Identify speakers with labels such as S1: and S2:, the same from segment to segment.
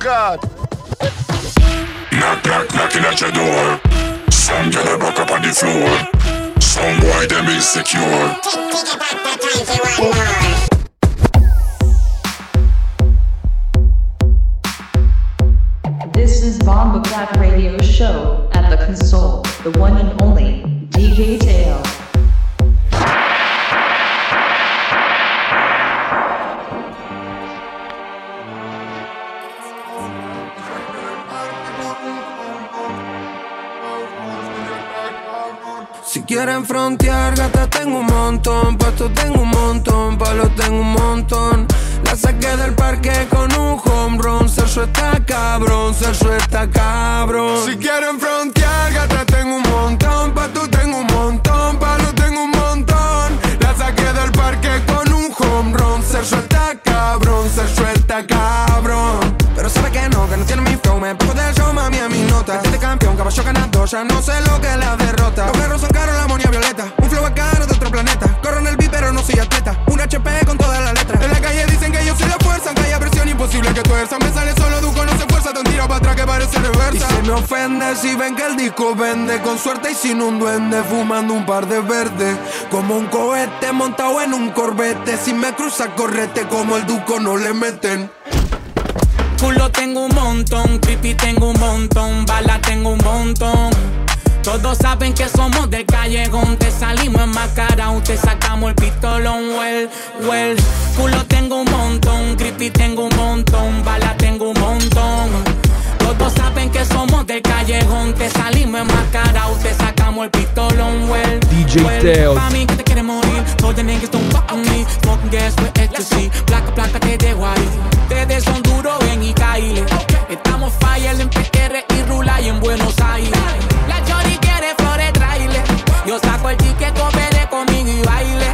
S1: God.
S2: Knock, knock, knocking at your door. Some girl a back up on the floor. Some boy them insecure.
S3: This is Bomba Clap Radio Show at the console, the one and only DJ Teo.
S4: Si quieren frontear, gata tengo un montón, pasto tengo un montón, palos tengo un montón. La saqué del parque con un home run, Celso está cabrón, Celso está cabrón. Si quieren frontear, gata tengo un montón, pasto tengo un montón, palos tengo un montón. La saqué del parque con un home run, Celso está cabrón, Celso está cabrón. Pero sabe que no tiene mi flow, me pongo del show, mami, a mi nota. Este campeón, caballo ganador, ya no sé lo que es la derrota. Los perros son caros, la amonía violeta, un flow caro de otro planeta. Corro en el beat, pero no soy atleta, un HP con todas las letras. En la calle dicen que yo soy la fuerza, aunque haya presión imposible que tuerza. Me sale solo Duco, no se fuerza, te un tiro para atrás que parece reversa. Y se me ofende si ven que el disco vende, con suerte y sin un duende, fumando un par de verdes. Como un cohete montado en un corbete, si me cruza correte, como el Duco no le meten.
S5: Culo tengo un montón, creepy tengo un montón, bala tengo un montón. Todos saben que somos del callejón, te salimos enmascarados, te sacamos el pistolón, well. Culo tengo un montón, creepy tengo un montón, bala tengo un montón. Todos saben que somos del callejón, te salimos enmascarados, te sacamos el pistolón, well.
S6: DJ Teo.
S5: Pa' mí que te quiere morir, todos the niggas don't fuck with me. Smoking gas with ecstasy, placa te dejo ahí. Ustedes son duros, ven y caile. Estamos fire en PR y Rula y en Buenos Aires. La chori quiere flores, traile. Yo saco el ticket, coopere conmigo y baile.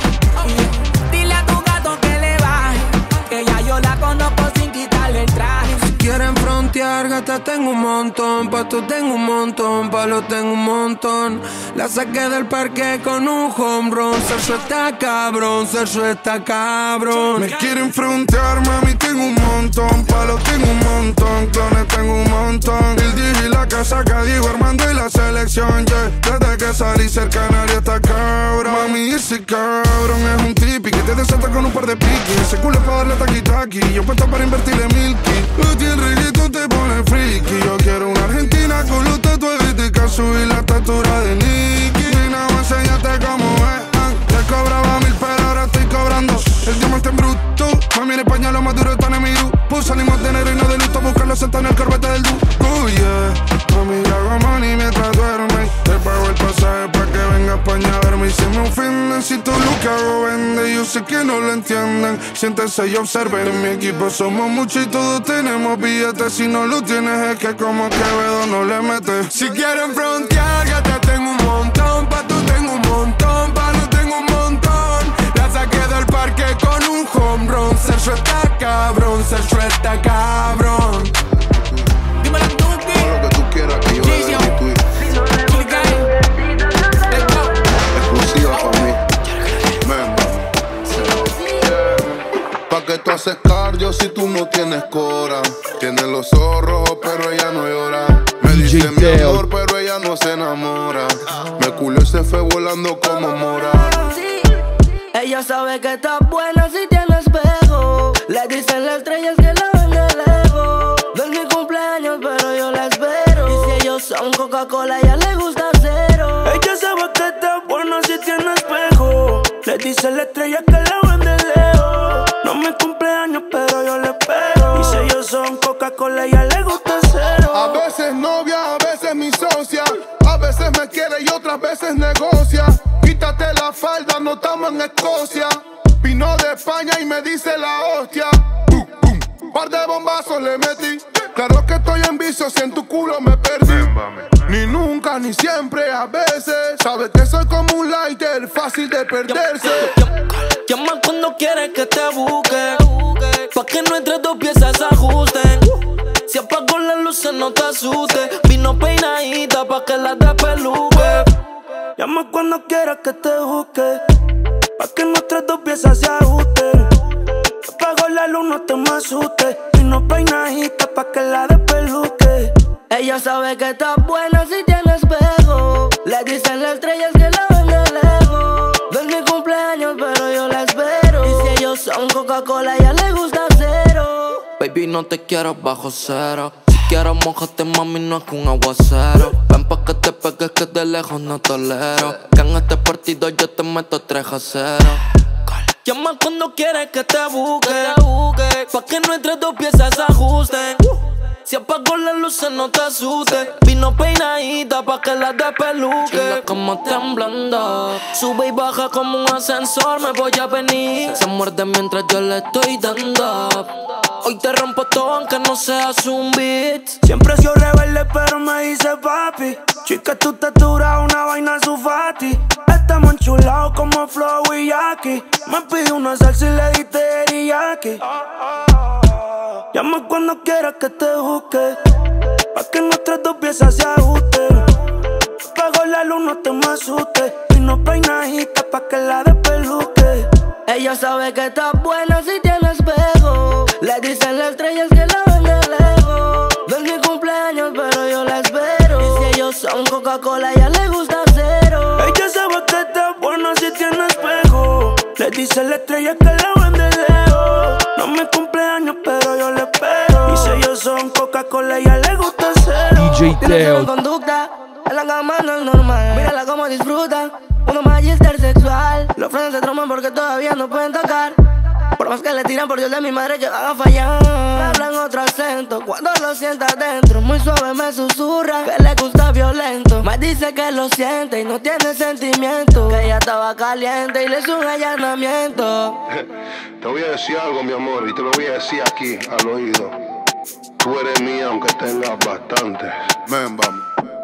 S5: Dile a tu gato que le baje, que ya yo la conozco sin quitarle el traje.
S4: Si quieren frontear, gata tengo un montón, pasto tengo un montón, palos tengo un montón. La saqué del parque con un home run, Celso está cabrón, Celso está cabrón. Me quieren frontear, mami, tengo un montón, palos tengo un montón, clones tengo un montón. El DJ y la casa que digo Armando y la selección, yeah. Desde que salí cerca nadie está cabrón. Mami, ese cabrón es un tipi que te desata con un par de piquis. Ese culo es para darle taqui-taqui, yo puesto para invertirle milky. El reggaetón te pone friki. Yo quiero una argentina con los tatuajes de Casu y la estatura de Nicky. Nena, enséñate cómo es. Te cobraba 1000 pero ahora estoy cobrando el diamante en bruto. Mami, en España lo más duro está en mi grupo. Salimos de enero y no de luto, buscarlo sentado en el corbete del Duco, yeah. Mami, hago money mientras duerme. Te pago el pasaje pa' que venga a España a verme. Y se me ofenden si todo lo que hago vende. Yo sé que no lo entienden, siéntense y observen. En mi equipo somos muchos y todos tenemos billetes. Si no lo tienes es que como Quevedo no le metes. Si quieren frontear, ya te tengo un montón. Pa' tú tengo un montón, pa' no tengo un montón. La saqué del parque con un home run. Celso está cabrón, Celso está cabrón.
S5: Dímelo tú,
S7: todo lo que tú quieras que yo le dé mi tweet. Exclusiva para mí. Pa' que tú haces cardio si tú no tienes cora. Tienes los ojos rojos pero ella no llora. Me dice mi amor pero ella no se enamora. Me culo y se fue volando como mora.
S8: Ella sabe que está buena si tiene espejo. Le dicen las estrellas que la ven de lejos. No es mi cumpleaños pero yo la espero. Y si ellos son Coca-Cola a ella le gusta cero. Ella sabe que está buena si tiene espejo. Le dicen las estrellas que la ven de lejos. No es mi cumpleaños pero yo la espero. Y si ellos son Coca-Cola a ella le gusta cero.
S7: A veces novia, a veces mi socia. A veces me quiere y otras veces negocia. Quítate la falda, no estamos en Escocia. Vino de España y me dice la hostia. Par de bombazos le metí. Claro que estoy en vicio, si en tu culo me perdí. Ni nunca, ni siempre, a veces. Sabes que soy como un lighter, fácil de perderse.
S8: Llama cuando quieres que te busque, pa' que nuestras dos piezas se ajusten. Si apago las luces no te asustes. Vino peinadita pa' que la despeluque. Llama cuando quieras que te busque, pa' que nuestras dos piezas se ajusten. apagó la luz, no te me asustes. Y no peinadita pa' que la despeluque. Ella sabe que estás buena si tiene espejo. Le dicen las estrellas que la ven de lejos. No es mi cumpleaños, pero yo la espero. Y si ellos son Coca-Cola, a ella le gusta cero.
S1: Baby, no te quiero bajo cero. Si quieres mojate, mami, no es que un aguacero. Ven pa' que te pegues que de lejos no tolero. Que en este partido yo te meto 3-0. Llama cuando quieres que te busque, pa' que nuestras dos piezas se ajusten. Si apagó las luces no te asustes. Vino peinadita pa' que la despeluque. Como temblando, sube y baja como un ascensor. Me voy a venir, se muerde mientras yo le estoy dando. Hoy te rompo todo aunque no seas un beat.
S8: Siempre he sido rebelde pero me dice papi. Chica, tu textura una vaina sufati. Estamos enchulados como Flow y Jackie. Me pidió una salsa y le di teriyaki. Llama cuando quieras que te busque, pa' que nuestras dos piezas se ajusten. Apago la luz, no te me asustes. Y no peinadita pa' que la despeluque. Ella sabe que estás buena si tiene espejo. Le dicen las estrellas que la ven de lejos. No es mi cumpleaños, pero yo la espero. Y si ellos son Coca-Cola, a ella le gusta cero. Ella sabe que estás buena si tiene espejo. Le dicen las estrellas que la ven de lejos. No es mi cumpleaños, pero yo la espero. Y si ellos son Coca-Cola, a ella le gusta cero.
S6: DJ Teo.
S8: Tiene conducta, en la cama no es normal. Mírala como disfruta, uno magister sexual. Los frenos se trompan porque todavía no pueden tocar. Por más que le tiran por Dios de mi madre que van a fallar. Me hablan otro acento cuando lo sienta adentro. Muy suave me susurra que le gusta violento. Me dice que lo siente y no tiene sentimiento. Que ella estaba caliente y le hizo un allanamiento.
S7: Te voy a decir algo, mi amor, y te lo voy a decir aquí al oído. Tú eres mía aunque tengas bastantes. Ven, vamos.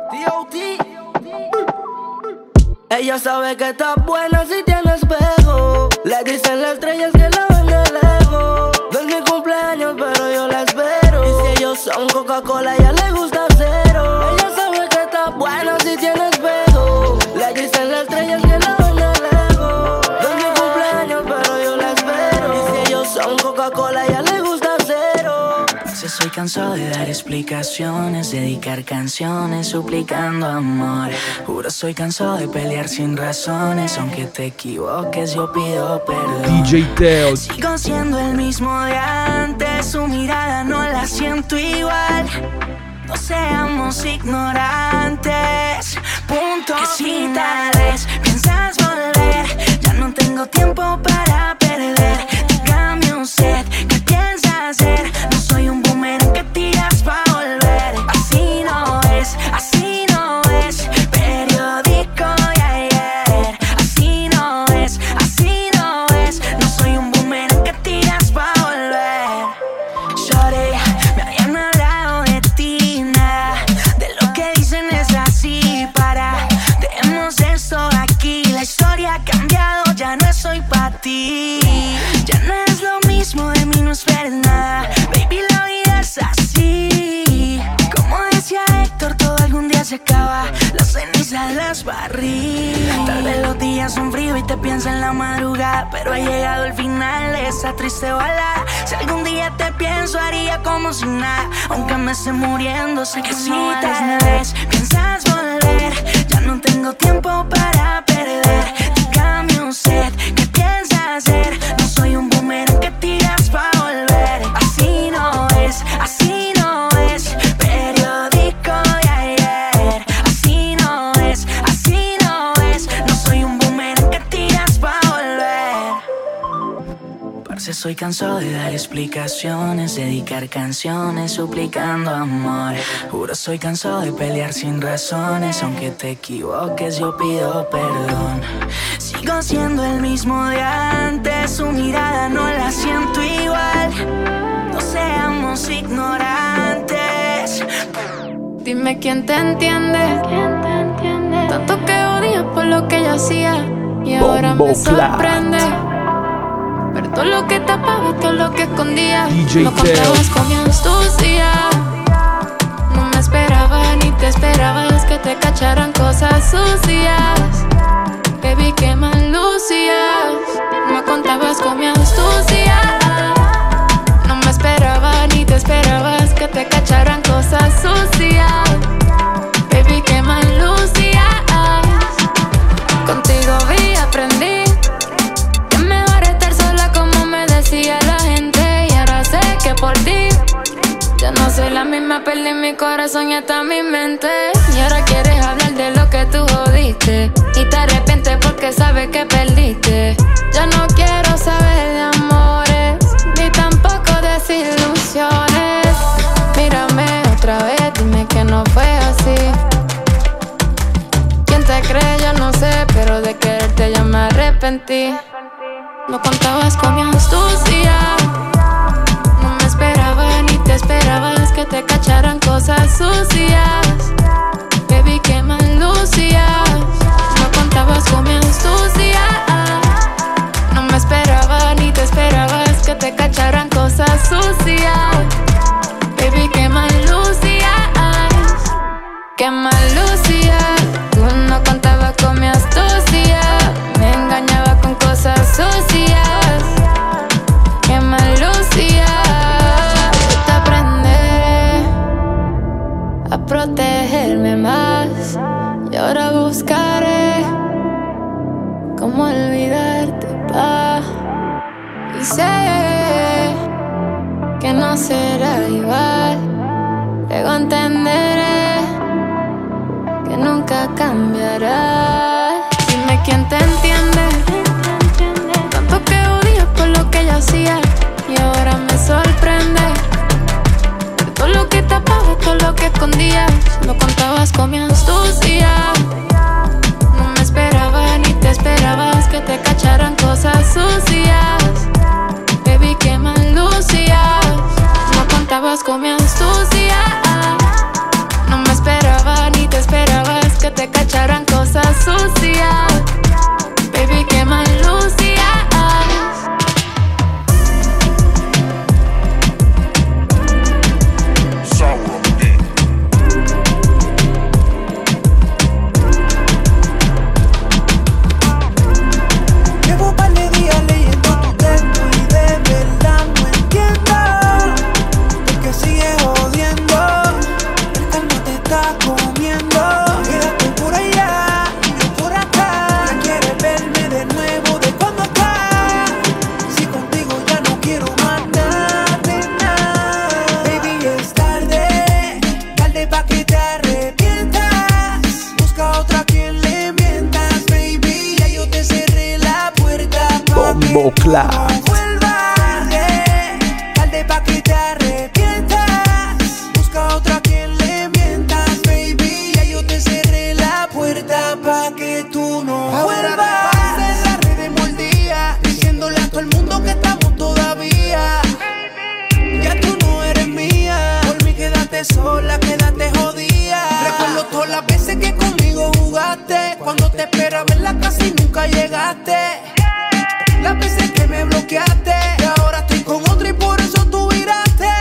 S8: Ella sabe que estás buena si tiene espejo. Le dicen las estrellas que la ven de lejos. No es mi cumpleaños, pero yo la espero. Y si ellos son Coca-Cola, a ella le gusta cero. Ella sabe que estás buena si tiene espejo. Le dicen las estrellas que la ven de lejos. No es mi cumpleaños, pero yo la espero. Y si ellos son Coca-Cola, a ella le gusta cero.
S9: Soy cansado de dar explicaciones, dedicar canciones suplicando amor. Juro soy cansado de pelear sin razones, aunque te equivoques yo pido perdón.
S6: DJ Teo.
S9: Sigo siendo el mismo de antes, su mirada no la siento igual. No seamos ignorantes, punto que si tal vez piensas volver, ya no tengo tiempo para perder. Dígame usted, ¿qué piensa hacer? No soy un boomerang que tiras pa' volver. Así no es periódico de ayer. Así no es, no soy un boomerang que tiras pa' volver. Shorty, me habían hablado de ti, nada de lo que dicen es así. Para, dejemos esto aquí. La historia ha cambiado, ya no soy pa' ti. Ya no es lo mismo, de mí no esperes nada. Baby, la vida es así. Como decía Héctor, todo algún día se acaba. Las cenizas las barrí. Tal vez los días son fríos y te pienso en la madrugada, pero ha llegado el final de esa triste balada. Si algún día te pienso, haría como si nada. Aunque me esté muriendo, sé que si no tal vez piensas volver, ya no tengo tiempo para perder. Dígame usted, ¿qué piensa hacer? No soy un boomerang que tiras pa' volver. Así no es periódico de ayer. Así no es, no soy un boomerang que tiras pa' volver. Parce, soy cansado de dar explicaciones, dedicar canciones suplicando amor. Juro soy cansado de pelear sin razones, aunque te equivoques yo pido perdón. Sigo siendo el mismo de antes, su mirada no la siento igual. No seamos ignorantes.
S10: Dime quién te entiende. Tanto que odias por lo que yo hacía y ahora me sorprende. Ver todo lo que tapaba, todo lo que escondía. No contabas con mi astucia. No me esperaba ni te esperabas que te cacharan cosas sucias. Baby, qué mal lucías. No contabas con mi astucia. cacharan cosas sucias. Baby, qué mal lucías. Contigo vi, aprendí que es mejor estar sola, como me decía la gente. Y ahora sé que por ti ya no soy la misma, perdí mi corazón y hasta mi mente. Y ahora quieres hablar de lo que tú jodiste y te arrepientes porque sabes que perdiste. Ya no quiero saber de amores ni tampoco desilusiones. Mírame otra vez, dime que no fue así. ¿Quién te cree? Yo no sé, pero de quererte ya me arrepentí. No contabas con mi astucia, no me esperaba ni te esperabas que te cacharan cosas sucias. Baby, qué mal lucías. No contabas con mi astucia, no me esperaba ni te esperabas que te cacharan cosas sucias. Baby, qué mal lucías. Qué mal lucías. Tú no contabas con mi astucia, me engañaba con cosas sucias. Qué mal lucías. Te aprenderé a protegerme más y ahora buscaré cómo olvidarte, pa. Y sé que no será igual, luego entenderé que nunca cambiará. Dime quién te entiende, tanto que odias por lo que yo hacía y ahora me sorprende. De todo lo que tapabas, todo lo que escondías, lo contabas con mi astucia. No me esperaba ni te esperabas que te cacharan cosas sucias. Baby, qué mal lucías. No contabas con mi astucia, no me esperaba ni te esperabas que te cacharan cosas sucias. Baby, qué mal lucías.
S6: Llevo un par de días leyendo tu texto y de verdad no entiendo por qué sigues jodiendo. El calma te está comiendo. Quédate por allá y yo por acá. Ya quieres verme de nuevo, de cuando acá. Si contigo ya no quiero más nada de nada. Baby, es tarde, tarde pa' que te arrepientas. Busca otra a quien le mientas, baby. Ya yo te cerré la puerta pa' que
S11: Bombo
S6: tú
S11: Clat.
S6: no vuelvas. Tarde pa' que te arrepientas. Busca otra a quien le mientas, baby. Ya yo te cerré la puerta pa' que tú no
S4: Ahora
S6: vuelvas.
S4: te pasas en las redes mordía, diciéndole a todo el mundo que estamos todavía.
S6: Ya tú no eres mía. Por mí quédate sola, quédate jodida.
S4: Recuerdo todas las veces que conmigo jugaste, cuando te esperaba en la casa y nunca llegaste. Las veces que me bloqueaste, y ahora estoy con otra y por eso tú viraste.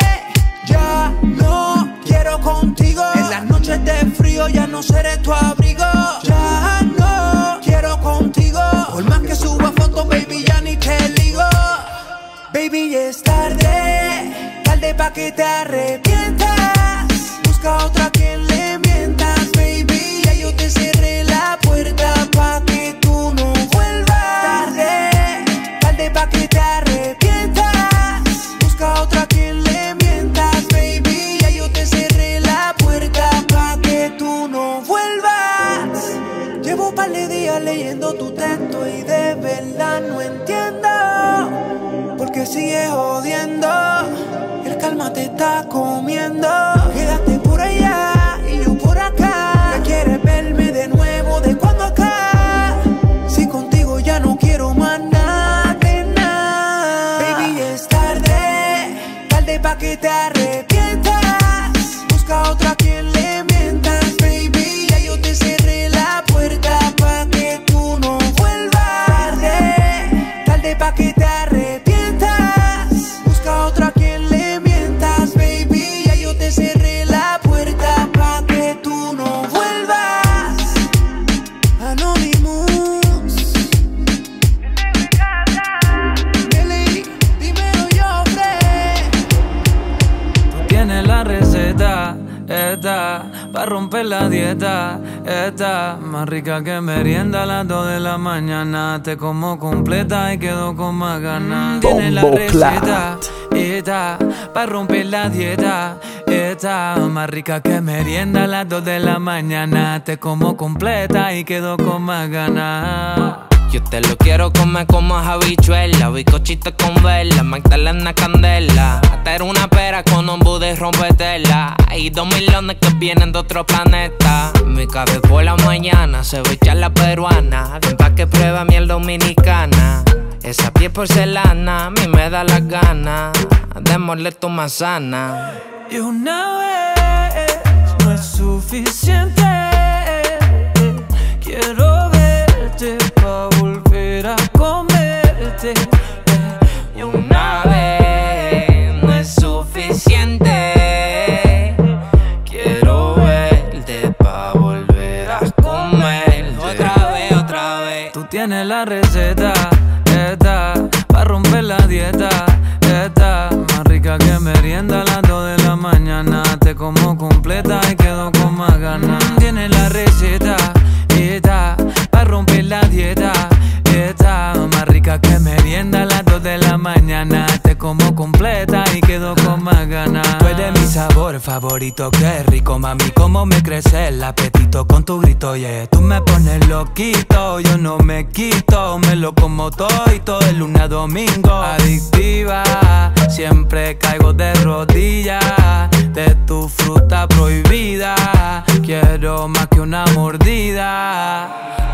S6: Ya no quiero contigo. En las noches de frío ya no seré tu abrigo. Ya no quiero contigo.
S4: Por más que suba fotos, baby, ya ni te ligo.
S6: Baby, ya es tarde, tarde pa' que te arrepientas. Busca otra a quien le mientas, baby. Ya yo te cerré la puerta pa' que tú no vuelvas. Tarde, tarde pa' que te arrepientas. Busca otra a quien le mientas, baby. Ya yo te cerré la puerta pa' que tú no vuelvas. Llevo un par de días leyendo tu texto y de verdad no entiendo por qué sigues jodiendo. El calma te está comiendo. Quédate por allá y yo por acá. Ya quieres verme de nuevo, de cuando acá. Si contigo ya no quiero más nada de nada. Baby, es tarde, tarde pa' que te arrepientas. Busca otra a quien le mientas, baby. Ya yo te cerré la puerta pa' que tú no vuelvas. Tarde, tarde pa' que te arrepientas. Busca otra a quien le mientas, baby. Ya yo te cerré
S11: romper la dieta. Está más rica que merienda a las 2 de la mañana. Te como completa y quedo con más ganas. Tiene la receta, está para romper la dieta. Está más rica que merienda a las 2 de la mañana. Te como completa y quedo con más ganas.
S12: Yo te lo quiero comer como habichuela, bizcochito con vela, magdalena candela. Hacer una pera con un buddy y rompetela. Hay 2 millones que vienen de otro planeta. Mi cabeza por la mañana, ceviche la peruana. Ven pa' que prueba miel dominicana. Esa piel porcelana, a mí me da las ganas de morder tu manzana.
S11: Y una vez no es suficiente. Quiero verte pa' volver a comerte.
S12: Y una vez no es suficiente. Quiero verte pa' volver a comerte. Otra vez.
S11: Tú tienes la receta, esta, pa' romper la dieta. Esta, más rica que merienda a las 2 de la mañana. Te como completa y quedo con más ganas. Tienes la receta, esta, pa' romper la dieta. Esta, más rica que merienda a las 2 de la mañana. Te como completa y quedo con más ganas. Tú eres mi sabor favorito, qué rico, mami, cómo me crece el apetito con tu grito, yeah. Tú me pones loquito, yo no me quito. Me lo como todo y todo de lunes a domingo. Adictiva, siempre caigo de rodillas. De tu fruta prohibida, quiero más que una mordida.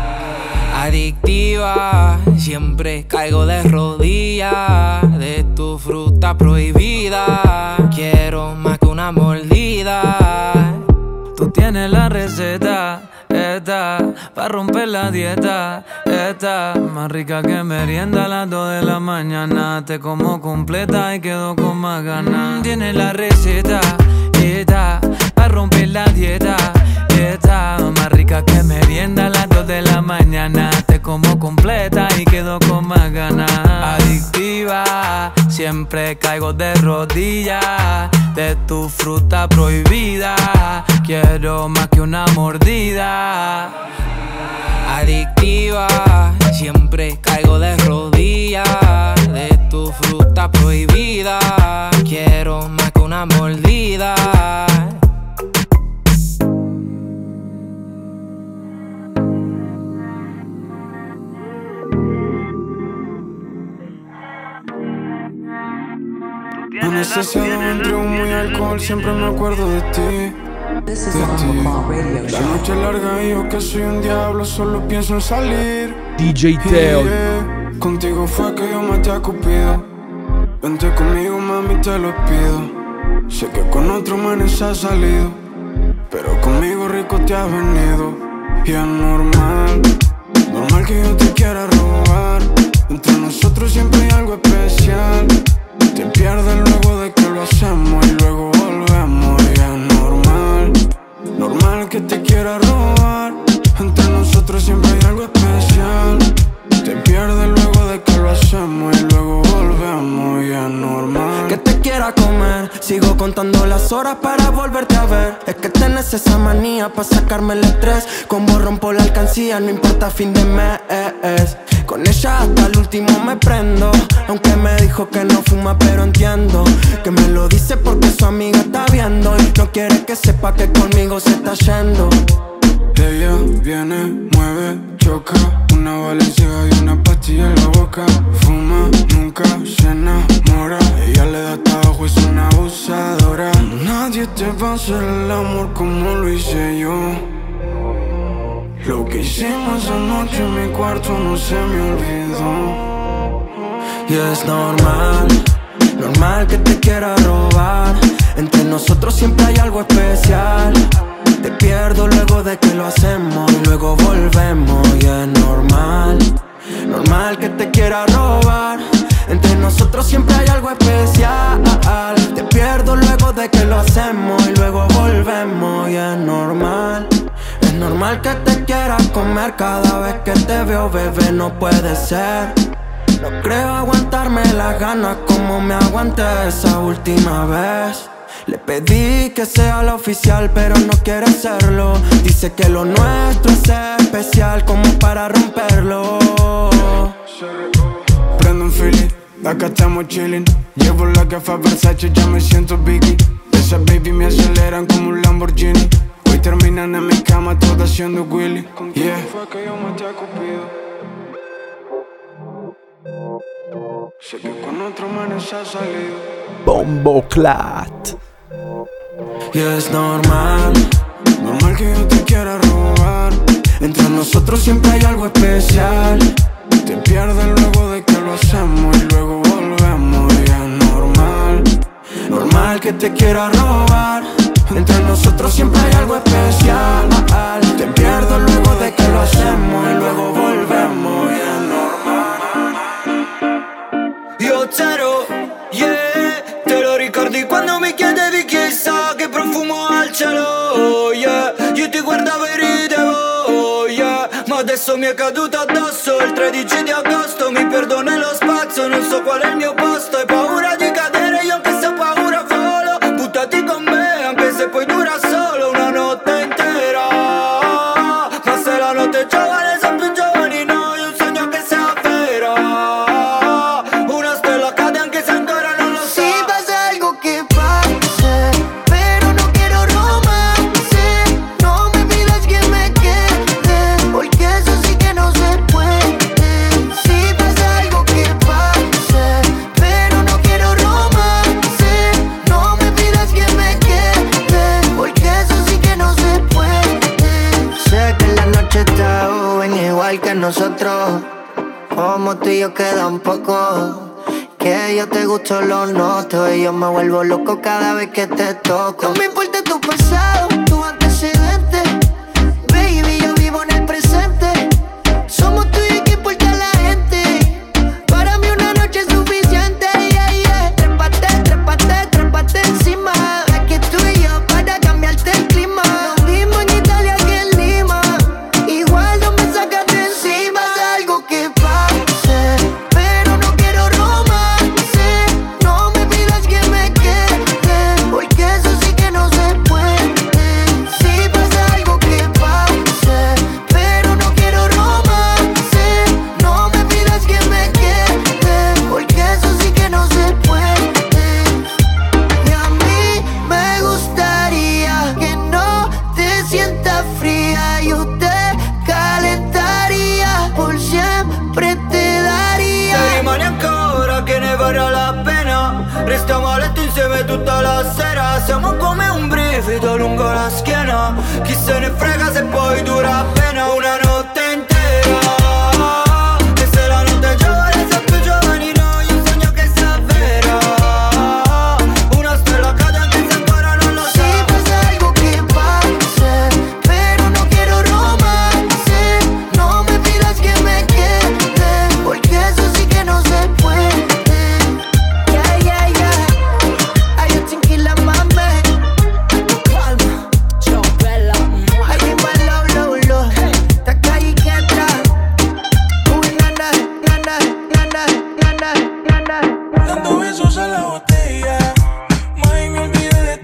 S12: Adictiva, siempre caigo de rodillas. De tu fruta prohibida, quiero más que una mordida.
S11: Tú tienes la receta, esta, pa' romper la dieta. Esta, más rica que merienda a las 2 de la mañana. Te como completa y quedo con más ganas. Tienes la receta, esta, pa' romper la dieta. Esta, más rica que merienda a las 2 de la mañana. Te como completa y quedo con más ganas. Adictiva, siempre caigo de rodillas. De tu fruta prohibida, quiero más que una mordida.
S12: Adictiva, siempre caigo de rodillas. De tu fruta prohibida, quiero más que una mordida.
S4: Anestesiado entre humo y alcohol, siempre me acuerdo de ti. De ti. La noche larga y yo que soy un diablo, solo pienso en salir.
S13: DJ Teo.
S4: Contigo fue que yo maté a Cupido. Vente conmigo, mami, te lo pido. Sé que con otro manes has salido, pero conmigo rico te has venido. Y es normal, normal que yo te quiera robar. Entre nosotros siempre hay algo especial. Te pierdes luego de que lo hacemos y luego volvemos. Y es normal, normal que te quiera robar. Entre nosotros siempre hay algo especial. Te pierdes luego de que lo hacemos y luego volvemos. Y es normal
S6: que te quiera comer. Sigo contando las horas para volverte a ver. Es que tenés esa manía para sacarme el estrés. Con vos rompo la alcancía, no importa fin de mes. Con ella hasta el último me prendo. Aunque me dijo que no fuma, pero entiendo que me lo dice porque su amiga está viendo y no quiere que sepa que conmigo se está yendo.
S4: Ella viene, mueve, choca. Una Valenciaga y una pastilla en la boca. Fuma, nunca se enamora. Ella le da tabaco, es una abusadora. Nadie te va a hacer el amor como lo hice yo. Lo que hicimos anoche en mi cuarto no se me olvidó.
S6: Y es normal, normal que te quiera robar. Entre nosotros siempre hay algo especial. Te pierdo luego de que lo hacemos y luego volvemos. Y es normal, normal que te quiera robar. Entre nosotros siempre hay algo especial. Te pierdo luego de que lo hacemos y luego volvemos. Y es normal, es normal que te quiera comer cada vez que te veo, bebé, no puede ser. No creo aguantarme las ganas como me aguanté esa última vez. Le pedí que sea la oficial, pero no quiere serlo. Dice que lo nuestro es especial como para romperlo.
S13: Prendo un feeling, acá estamos chilling. Llevo la gafa Versace, ya me siento Biggie. Esas baby me aceleran como un Lamborghini. Hoy terminan en mi cama todas haciendo Willy. Yeah. Fue que yo maté a Cupido. Sé que con otro man se ha salido.
S14: Bomboclat.
S6: Y es normal, normal que yo te quiera robar. Entre nosotros siempre hay algo especial.
S13: Te pierdes luego de que lo hacemos y luego volvemos. Y es normal,
S6: normal que te quiera robar. Entre nosotros siempre hay algo especial. Te pierdo luego de que lo hacemos y luego volvemos. Y es normal.
S15: Io zero, yeah. Te lo ricordi quando mi chiedevi chissà che profumo ha il cielo, yeah. Io ti guardavo e ridevo, yeah. Ma adesso mi è caduto addosso il 13 di agosto. Mi perdo nello spazio, non so qual è il mio posto. Hai paura di cadere, io anche se ho paura volo. Buttati con me, anche se poi dura solo una notte intera. Ma se la notte è giovane, sono più giovani noi. Un sogno che sia vero. Una stella cade anche se ancora non lo so.
S8: Si pasa algo que pase, pero no quiero romance. No me pidas que me quede, porque eso sí que no se puede. Si pasa algo que pase, pero no quiero romance. No me pidas que me quede, porque eso sí que no se puede.
S15: Sé que la noche está joven igual que nosotros. Como tú y yo queda un poco. Que yo te gusto, lo noto. Y yo me vuelvo loco cada vez que te toco.
S8: No me importa tu pasado, tu antecedente. Baby, yo vivo en el presente. Somos tú y que importa la gente. Para mí una noche es suficiente, yeah, yeah. Trépate, trépate, trépate encima. Es que tú y yo para cambiarte el clima. Lo mismo en Italia que en Lima. Igual no me sacas de encima. Pasa algo que pase, pero no quiero romance. No me pidas que me quede, porque eso sí que no se puede. Si pasa algo que pase, pero no quiero romance. No me pidas que me quede, porque eso sí que no se puede. Y a mí me gustaría que no te sientas fría. Yo te calentaría, por siempre te daría.
S15: Se rimane ancora che ne varrà la pena. Restiamo a letto insieme tutta la sera. Siamo come un brivido lungo la schiena. Chi se ne frega se poi dura appena una notte intera. E se la notte è giovane, siamo più giovani noi. Un sogno che sia vero. Una stella cade anche se ancora non lo so.
S8: Si pasa algo que pase, pero no quiero romance. No me pidas que me quede, porque eso sí que no se puede. Yeah, yeah, yeah. Ay, yo tranquila, mami. Calma, yo bella. Ay, dime lo, lo. Esta calle que entra. Uy, nana, nana, nana, nana, nana.
S13: dando besos a la botella. May, me olvidé de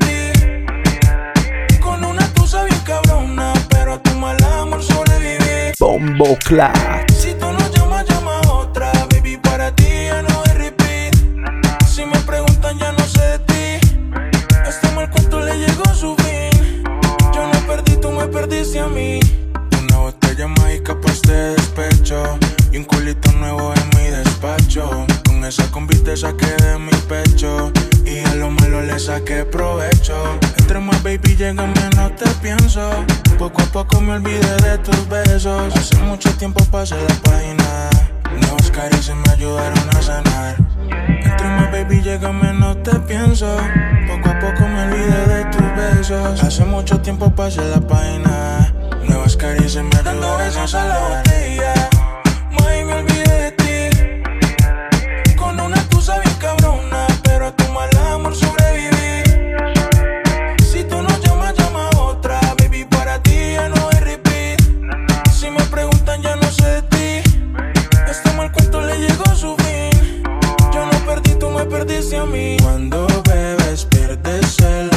S13: ti. Con una tusa bien cabrona, pero a tu mal amor sobreviví.
S14: Bomboclat.
S13: Si tú no llamas, llama a otra. Baby, para ti ya no hay repeat. Si me preguntan, ya no sé de ti. Este mal cuento le llegó su fin. Yo no perdí, tú me perdiste a mí. Una botella mágica pa' este despecho. Y un culito nuevo en mi despacho. Con esa combi te saqué de mi pecho. Y a lo malo le saqué provecho. Entre más baby llega menos te pienso. Poco a poco me olvidé de tus besos. Hace mucho tiempo pasé la página. Nuevas caricias me ayudaron a sanar. Entre más baby llega menos te pienso. Poco a poco me olvidé de tus besos. Hace mucho tiempo pasé la página. Nuevas caricias me ayudaron a sanar. May, me olvidé de ti. Con una tusa bien cabrona, pero a tu mal amor sobreviví. Si tú no llamas, llama a otra. Baby, para ti ya no hay repeat. Si me preguntan, ya no sé de ti. Este mal cuento le llegó su fin. Yo no perdí, tú me perdiste a mí. Cuando bebes, pierdes el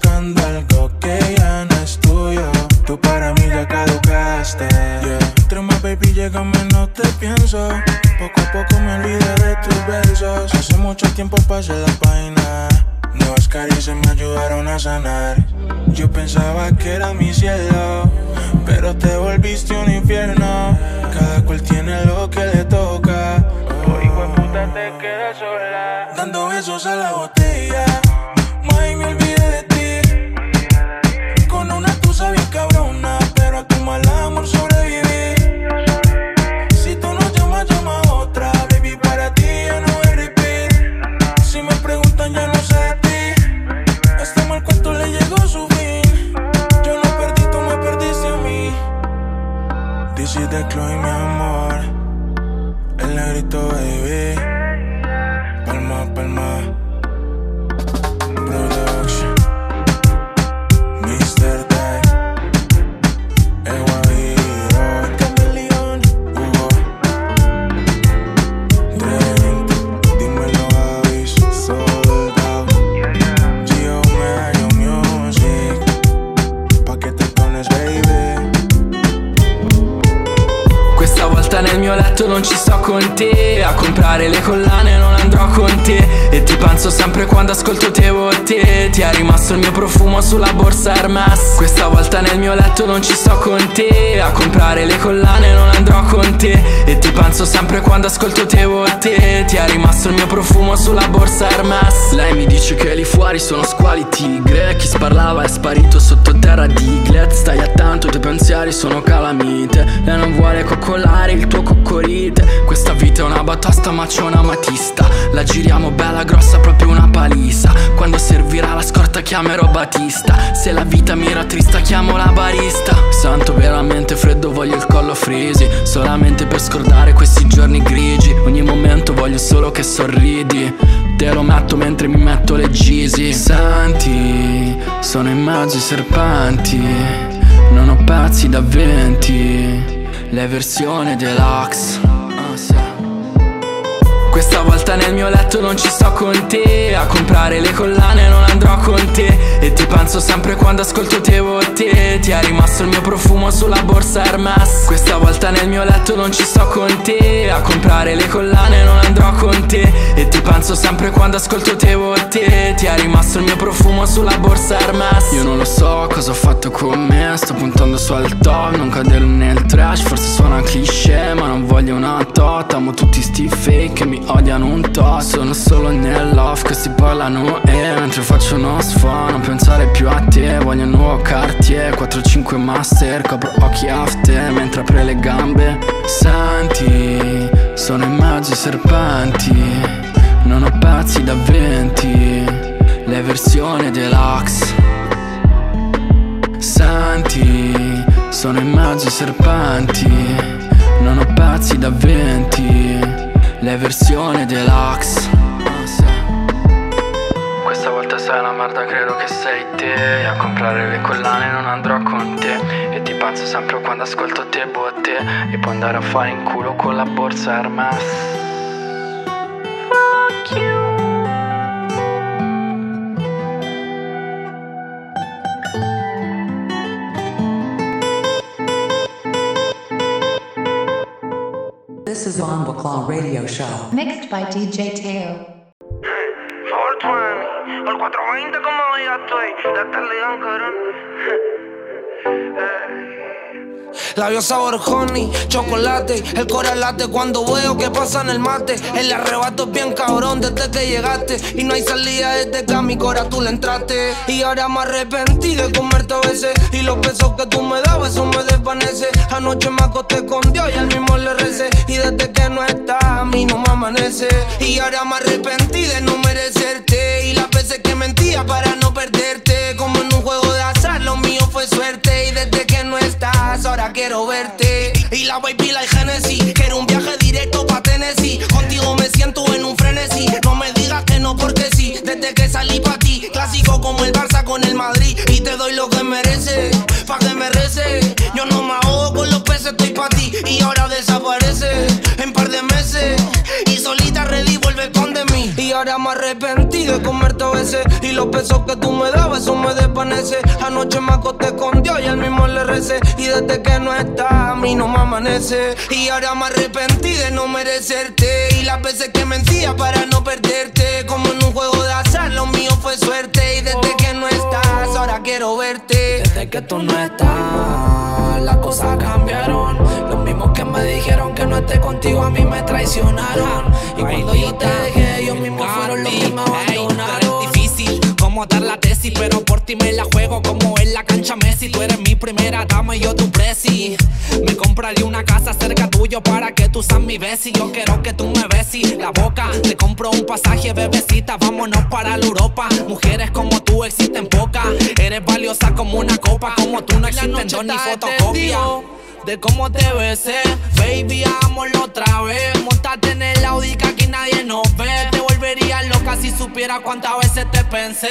S13: buscando algo que ya no es tuyo. Tú para mí ya caducaste, yeah. Trema, baby, llégame, no te pienso. Poco a poco me olvidé de tus besos. Hace mucho tiempo pasé la página. Nuevas caricias me ayudaron a sanar. Yo pensaba que era mi cielo, pero te volviste un infierno. Cada cual tiene lo que le toca. Oh, hijo de puta, te quedas sola, dando besos a la botella. May, me olvidé de ti. Con una tusa bien cabrona, pero a tu mal amor sobreviví. Si tú no llamas, llama a otra. Baby, para ti ya no hay repeat. Si me preguntan, ya no sé de ti. Este mal cuento le llegó su fin. Yo no perdí, tú me perdiste a mí. This is the Chloe, mi amor. El negrito, baby. Palma, palma. Production. Mr. Tag. Eguaviro. Camaleón. Hugo. Trent. Dímelo, Avis. Soldado. Gio Mayo Music. Pa' che te pones, baby.
S11: Questa volta nel mio letto non ci sto con te. A comprare le collane non andrò con te. E ti penso sempre quando ascolto te o te. Ti è rimasto il mio profumo sulla borsa Hermes. Questa volta nel mio letto non ci sto con te. A comprare le collane non andrò con te. E ti penso sempre quando ascolto te o te. Ti è rimasto il mio profumo sulla borsa Hermes. Lei mi dice che lì fuori sono squali tigre. Chi sparlava è sparito sottoterra di Glet. Stai attento, i tuoi pensieri sono calamite. Lei non vuole coccolare il tuo coccorite. Questa vita è una batosta ma c'è una matista. La giriamo bella grossa, proprio una palisa. Quando servirà la scorta chiamerò Batista. Se la vita mi rattrista chiamo la barista. Sento veramente freddo, voglio il collo frisi. Solamente per scordare questi giorni grigi. Ogni momento voglio solo che sorridi. Te lo metto mentre mi metto le Yeezy. Senti, sono in mezzo ai serpenti. Non ho pezzi da 20. Le versioni deluxe. Questa volta nel mio letto non ci sto con te. A comprare le collane non andrò con te. E ti penso sempre quando ascolto te o te. Ti è rimasto il mio profumo sulla borsa Hermes. Questa volta nel mio letto non ci sto con te. A comprare le collane non andrò con te. E ti penso sempre quando ascolto te o te. Ti è rimasto il mio profumo sulla borsa Hermes. Io non lo so cosa ho fatto con me. Sto puntando su al top, non cadere nel trash. Forse suona cliché ma non voglio una tot. Amo tutti sti fake che mi odiano un to'. Sono solo nell'off che si parlano e mentre faccio uno sfo', non pensare più a te. Voglio un nuovo Cartier 4-5 master. Copro occhi after mentre apre le gambe. Senti, sono in mezzo ai serpenti. Non ho pezzi da 20. Le versioni deluxe. Senti, sono in mezzo ai serpenti. Non ho pezzi da 20. Le versioni deluxe. Questa volta sei una merda, credo che sei te. A comprare le collane non andrò con te. E ti penso sempre quando ascolto te botte. E puoi andare a fare in culo con la borsa Hermes. Fuck you.
S3: This is Bomba Claw Radio Show. Mixed by DJ Teo.
S16: 420, al 420 como ya estoy. La tarde cabrón.
S6: Labios sabor honey, chocolate. El corazón late cuando veo que pasa en el mate. El arrebato es bien cabrón desde que llegaste. Y no hay salida desde que a mi corazón tú le entraste. Y ahora me arrepentí de comerte a veces. Y los besos que tú me dabas, eso me desvanece. Anoche me acosté con Dios y al mismo le recé. Y desde que no estás, a mí no me amanece. Y ahora me arrepentí de no merecerte. Y las veces que mentía para no perderte. Como en un juego de azar, lo mío fue suerte. Y desde que no estás, ahora quiero verte. Y la baby la Genesis. Quiero un viaje directo pa' Tennessee. Contigo me siento en un frenesí. No me digas que no porque sí. Desde que salí pa' ti, clásico como el Barça con el Madrid. Y te doy lo que mereces, pa' que me reces. Yo no me ahogo con los peces, estoy pa' ti. Y ahora desaparece en par de meses. Y solita ready vuelve con de mí. Y ahora me arrepentí de comerte a veces. Y los besos que tú me dabas, eso me desvanece. Anoche me acosté con Dios y él mismo le recé. Y desde que no está, a mí no me amanece. Y ahora me arrepentí de no merecerte. Y las veces que mentía para no perderte. Como en un juego de azar, lo mío fue suerte. Y desde que no estás, ahora quiero verte.
S17: Desde que tú no estás, las cosas cambiaron. Los mismos que me dijeron que no esté contigo a mí me traicionaron. Y cuando yo te dejé, ellos mismos fueron los que me abandonaron.
S12: Es difícil como dar la tesis, pero por ti me la juego como en la cancha Messi. Tú eres mi primera dama y yo tu presi. Me compraré una casa cerca tuyo para que tú seas mi besi. Yo quiero que tú me besis la boca. Te compro un pasaje, bebecita, vámonos para la Europa. Mujeres como tú existen pocas. Eres valiosa como una copa. Como tú no existen dos ni fotocopia. De cómo te besé, baby, hagámoslo otra vez. Montate en el Audi que aquí nadie nos ve. Te volvería loca si supiera cuántas veces te pensé.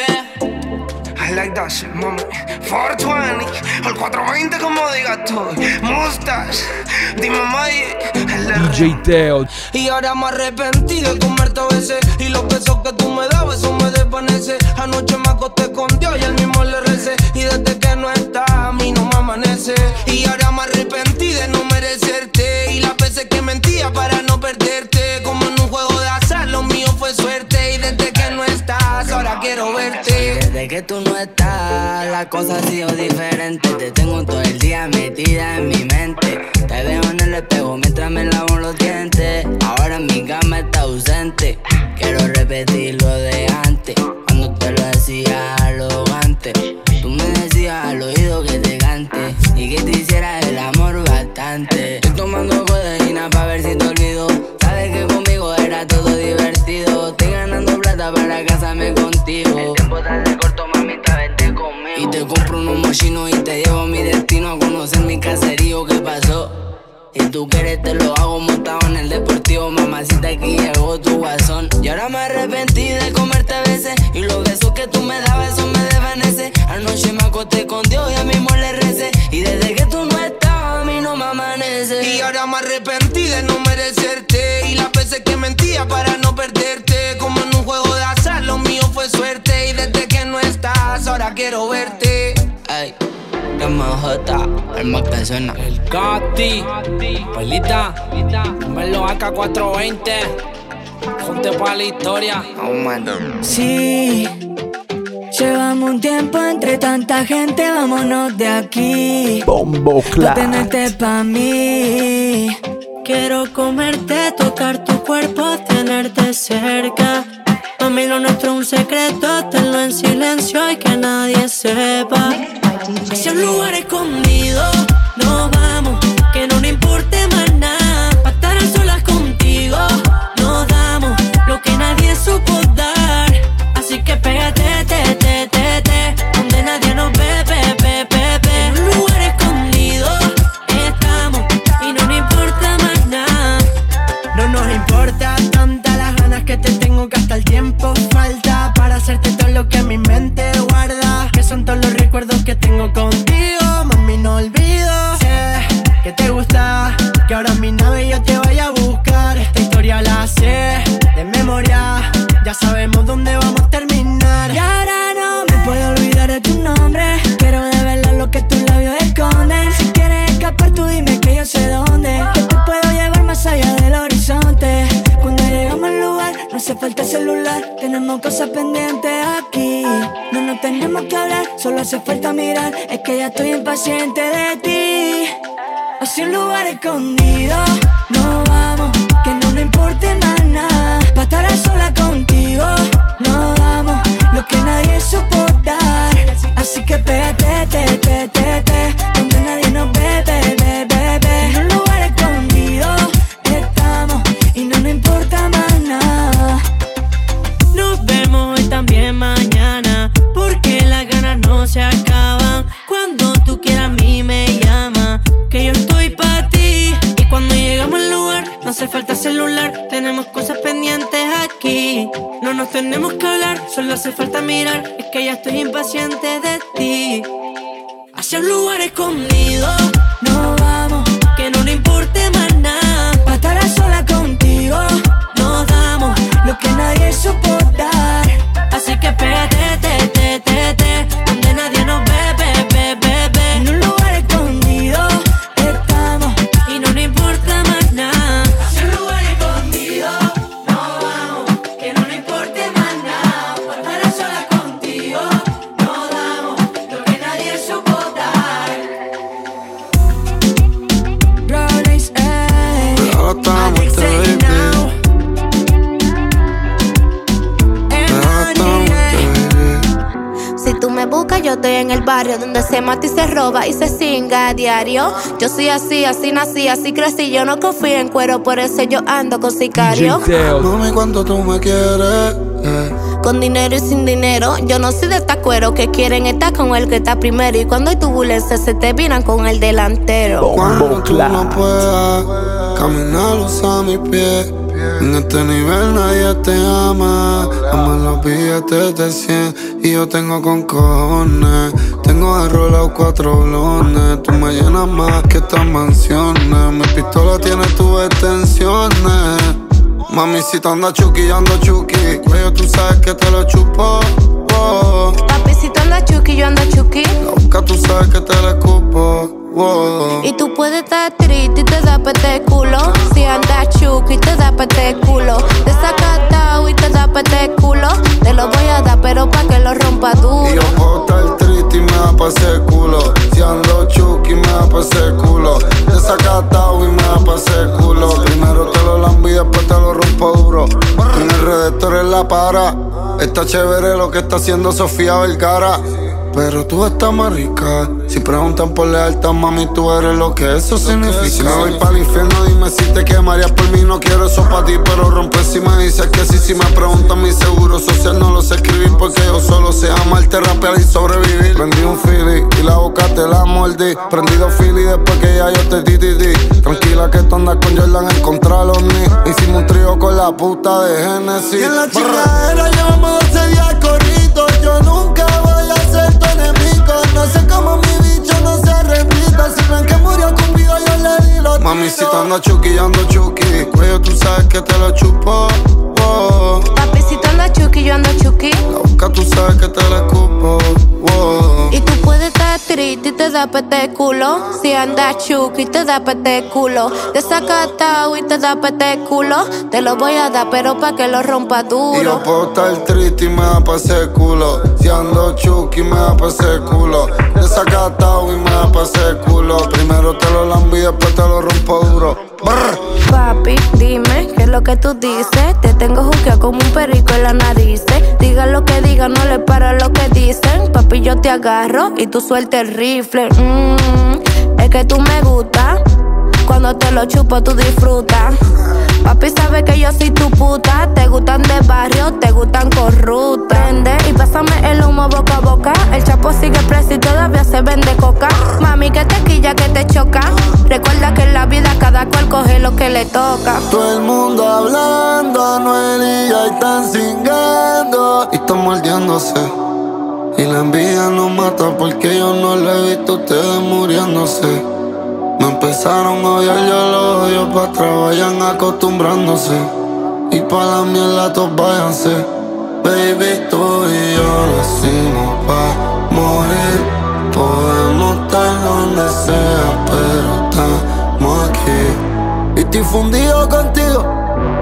S6: I like that shit, mami. 420, al 420 como digas tú. Mustache, dime Mike,
S14: DJ Teo.
S6: Y ahora me arrepentí de comerte a veces. Y los besos que tú me dabas, eso me desvanece. Anoche me acosté con Dios y él mismo le recé. Y desde que no está, a mí no me amanece. Y ahora me arrepentí de no merecerte. Y las veces que mentía para no perderte. Como en un juego de azar, lo mío fue suerte. Y desde que no estás, ahora quiero verte.
S8: Desde que tú no estás, la cosa ha sido diferente. Te tengo todo el día metida en mi mente. Te veo en el espejo mientras me lavo los dientes. Ahora mi cama está ausente. Quiero repetir lo de antes. Cuando te lo decía arrogante. Tú me decías al oído que te cante y que te hicieras el amor bastante. Estoy tomando codeína pa' ver si te olvido. Sabes que conmigo era todo divertido. Estoy ganando plata para casarme contigo. El tiempo tarde corto, mamita, vente conmigo. Y te compro unos mochinos y te llevo a mi destino. A conocer mi caserío, ¿qué pasó? Y tú quieres te lo hago montado en el deportivo. Mamacita, aquí llegó tu guasón. Y ahora me arrepentí de comerte a veces. Y los besos que tú me dabas, eso me desvanece. Anoche me acosté con Dios y a mismo le recé. Y desde que tú no estás, a mí no me amanece.
S6: Y ahora me arrepentí de no merecerte. Y las veces que mentía para no perderte. Como en un juego de azar, lo mío fue suerte. Y desde que no estás, ahora quiero verte.
S8: Ay, MJ, el más que suena.
S12: El Gatti, Pelita, Melo AK420. Junte pa' la historia.
S8: Oh, man.
S18: Sí, llevamos un tiempo entre tanta gente, vámonos de aquí.
S14: Bomboclat.
S18: No tenerte pa' mí. Quiero comerte, tocar tu cuerpo, tenerte cerca. Mami, lo nuestro es un secreto, tenlo en silencio y que nadie sepa. Hacia un lugar escondido nos vamos, que no nos importe más nada. Pa' estar a solas contigo nos damos lo que nadie supo dar. Así que pégate, donde nadie nos ve. En un lugar escondido estamos y no nos importa más nada. No nos importa tanta las ganas que te tengo, que hasta el tiempo falta para hacerte todo lo que mi mente guarda. Que son todos los recuerdos que tengo contigo, mami, no olvido. Sé que te gusta, que ahora en mi nave yo te vaya a buscar. Esta historia la sé de memoria, ya sabemos dónde vamos a terminar. Y ahora no me puedo olvidar de tu nombre, quiero develar lo que tus labios esconden. Si quieres escapar tú dime que yo sé dónde, que te puedo llevar más allá del horizonte. Cuando llegamos al lugar no hace falta celular, tenemos cosas pendientes aquí. No nos tenemos que hablar, solo hace falta mirar. Es que ya estoy impaciente de ti. Hacia un lugar escondido nos vamos, que no nos importe más nada. Pa' estar a sola contigo nos damos lo que nadie supo dar. Así que pégate, donde nadie nos ve. En un lugar escondido estamos y no nos importa más nada. Nos vemos hoy también mañana, porque las ganas no se acaban. Cuando tú quieras a mí me llama, que yo estoy pa' ti. Y cuando llegamos al lugar no hace falta celular, tenemos cosas pendientes aquí. No nos tenemos que hablar, solo hace falta mirar. Es que ya estoy impaciente de ti. Hacia un lugar escondido nos vamos, que no nos importe más nada. Pa' estar a sola contigo nos damos lo que nadie supo
S19: en el barrio donde se mata y se roba y se cinga a diario. Yo soy así, así nací, así crecí. Yo no confío en cuero, por eso yo ando con sicario.
S4: Mami, ¿cuánto tú me quieres?
S19: Con dinero y sin dinero, yo no soy de esta cuero que quieren estar con el que está primero. Y cuando hay turbulencia se te viran con el delantero.
S4: Cuando tú no puedas caminar, usa mis pies. En este nivel nadie te ama. Aman los billetes de 100 y yo tengo con cojones. Tengo arrolado 4 blones. Tú me llenas más que estas mansiones. Mi pistola tiene tus extensiones. Mami, si te anda chuki, yo ando chuki. Cuello, tú sabes que te lo chupo. Oh.
S19: Papi, si te anda chuki, yo ando chuki.
S4: La boca, tú sabes que te la escupo. Oh.
S19: Y tú puedes estar triste y te da pete culo. Si andas chuki, te da pete culo. Desacatado y te da pete culo. Te lo voy a dar, pero pa' que lo rompa duro.
S4: Y yo puedo estar triste y me da pa' ese culo. Si ando chuki, me da pa' ese culo. Desacatado y me da pa' ese culo. Primero te lo lambo y después te lo rompo duro. En el redactor en la para. Está chévere lo que está haciendo Sofía Vergara. Pero tú estás más rica. Si preguntan por lealtad, mami, tú eres lo que eso significa. Si me voy para el infierno, dime si te quemarías por mí. No quiero eso para ti, pero rompe si me dices que sí. Si me preguntan mi seguro social, no lo sé escribir, porque yo solo sé amarte, rapear y sobrevivir. Prendí un Philly y la boca te la mordí. Prendí 2 Philly después que ya yo te di. Tranquila que tú andas con Jordan en contra los ni. Hicimos un trío con la puta de Genesis.
S6: Y en la chingadera llevamos 12 días corridos. Yo nunca voy a ser tu enemigo. No sé cómo mi bicho no se repita. Si ven que murió conmigo, yo le di los
S4: Mami, si te ando chuki, yo ando chuki. Cuello, tú sabes que te lo chupo. Oh.
S19: Papi, si te anda chuki, yo ando chuki.
S4: La boca, tú sabes que te la escupo. Oh.
S19: Y tú puedes estar triste y te da pete culo. Si andas chuki, te da pete culo. Desacatado y te da pete culo. Te lo voy a dar, pero pa' que lo rompa duro.
S4: Y yo puedo estar triste y me da pa' ese culo. Si ando chuki, me da pa' ese culo. Desacatado y me da pa' ese culo. Primero te lo lambo y después te lo rompo duro. Brr.
S19: Papi, dime, ¿qué es lo que tú dices? Te tengo juqueado como un perico en la nariz. Diga lo que diga, no le para lo que dicen. Papi, yo te agarro y tú suelta el rifle. Es que tú me gustas. Cuando te lo chupo, tú disfrutas. Papi sabe que yo soy tu puta. Te gustan de barrio, te gustan corruptas. Prende y pásame el humo boca a boca. El chapo sigue preso y todavía se vende coca. Mami, que te quilla, que te choca. Recuerda que en la vida cada cual coge lo que le toca.
S4: Todo el mundo hablando, Anuel y ya están cingando. Y están mordiéndose. Y la envidia nos mata porque yo no le he visto a ustedes muriéndose. Me empezaron a odiar, yo los odio pa' atrás, vayan acostumbrándose. Y pa' la mierda todos váyanse. Baby, tú y yo nacimos pa' morir. Podemos estar donde sea, pero estamos aquí. Y estoy fundido contigo.